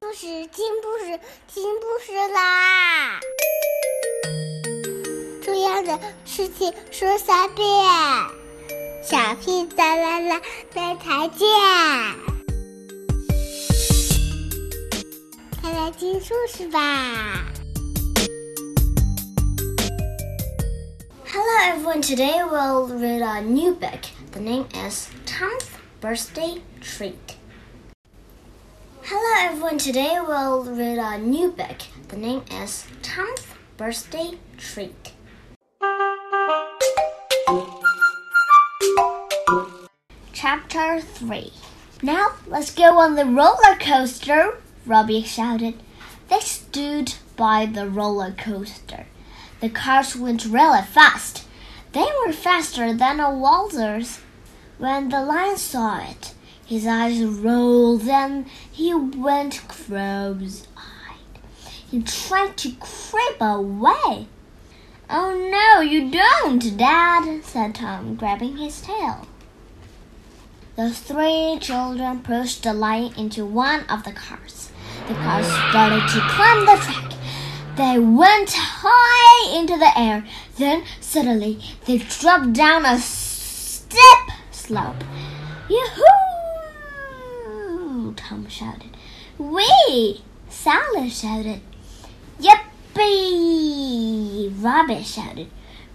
故事，听故事，听故事啦！重要的事情说3遍，小屁哒啦啦，明天见！快来听故事吧 Hello everyone, today we'll read a new book. The name is Tom's Birthday Treat. Hello everyone, today we'll read a new book. The name is Tom's Birthday Treat. Chapter 3. Now let's go on the roller coaster, Robbie shouted. They stood by the roller coaster. The cars went really fast. They were faster than a waltzers. When the lion saw it, his eyes rolled and he went cross-eyed. He tried to creep away. "Oh, no, you don't, Dad," said Tom, grabbing his tail. The 3 children pushed the lion into one of the cars. The cars started to climb the track. They went high into the air. Then suddenly they dropped down a steep slope. "Yoo-hoo!" Tom shouted. "Whee!" Sally shouted. "Yippee!" Robbie shouted.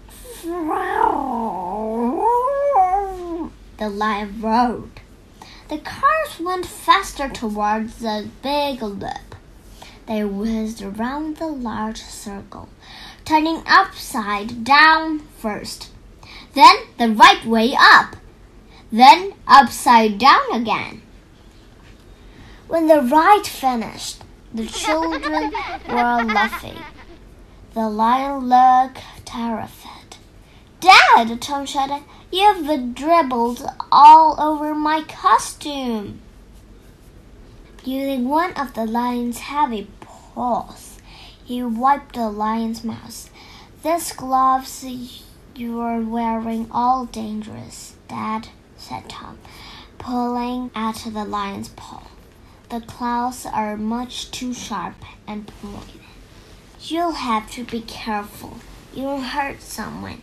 The lion roared. The cars went faster towards the big loop. They whizzed around the large circle, turning upside down first, then the right way up, then upside down again. When the ride finished, the children were laughing. The lion looked terrified. "Dad," Tom shouted, "you've dribbled all over my costume." Using one of the lion's heavy paws, he wiped the lion's mouth. "These gloves you're wearing all dangerous, Dad," said Tom, pulling at the lion's paw. "The claws are much too sharp and pointed. You'll have to be careful. You'll hurt someone."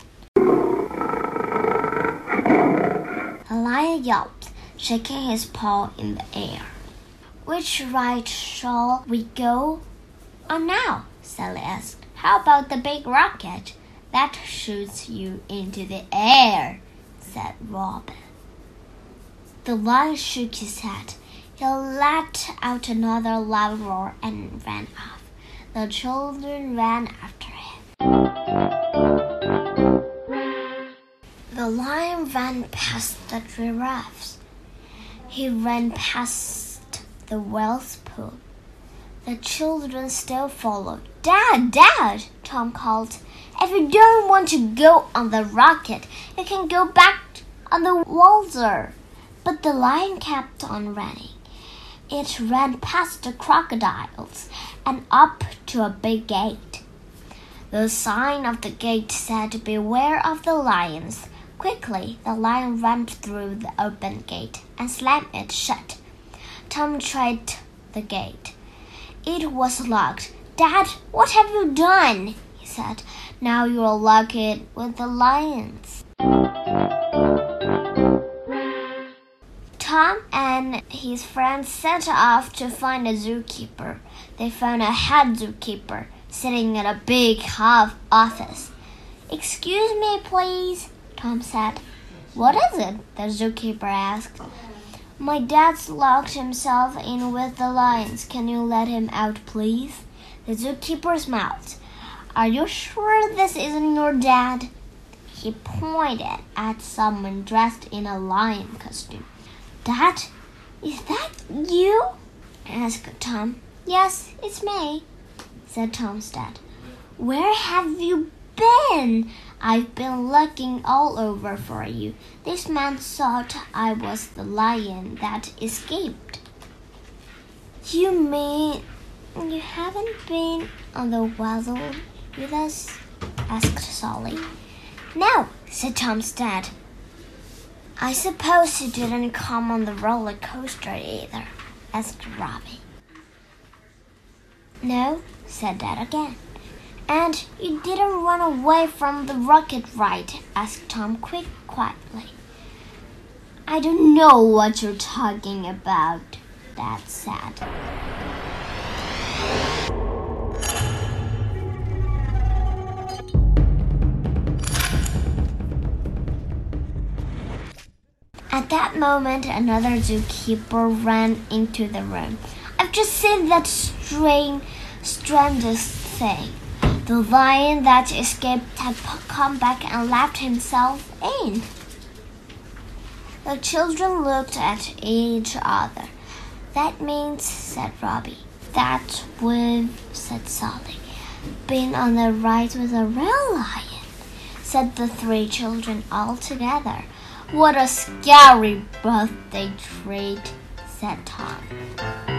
The lion yelped, shaking his paw in the air. "Which ride shall we go on now?" Sally asked. "How about the big rocket? That shoots you into the air," said Robin. The lion shook his head. He let out another loud roar and ran off. The children ran after him. The lion ran past the giraffes. He ran past the whale's pool. The children still followed. "Dad, Dad," Tom called. "If you don't want to go on the rocket, you can go back on the waltzer." But the lion kept on running. It ran past the crocodiles and up to a big gate. The sign of the gate said, "Beware of the lions." Quickly, the lion ran through the open gate and slammed it shut. Tom tried the gate. It was locked. "Dad, what have you done?" he said. "Now you'll lock it with the lions." Tom and his friends set off to find a zookeeper. They found a head zookeeper sitting in a big office. "Excuse me, please," Tom said. "What is it?" the zookeeper asked. "My dad's locked himself in with the lions. Can you let him out, please?" The zookeeper smiled. "Are you sure this isn't your dad?" He pointed at someone dressed in a lion costume. "Dad, is that you?" asked Tom. "Yes, it's me," said Tom's dad. "Where have you been? I've been looking all over for you. This man thought I was the lion that escaped." "You mean you haven't been on the waddle with us?" asked Sally. "No," said Tom's dad. "I suppose you didn't come on the roller coaster either?" asked Robbie. No, said Dad again. And you didn't run away from the rocket ride? Asked Tom quietly. I don't know what you're talking about, Dad said. At that moment, another zookeeper ran into the room. I've just seen that strangest thing. The lion that escaped had come back and let himself in. The children looked at each other. That means, said Robbie, that we've, said Sally, been on a ride with a real lion, said the three children all together. What a scary birthday treat, said Tom.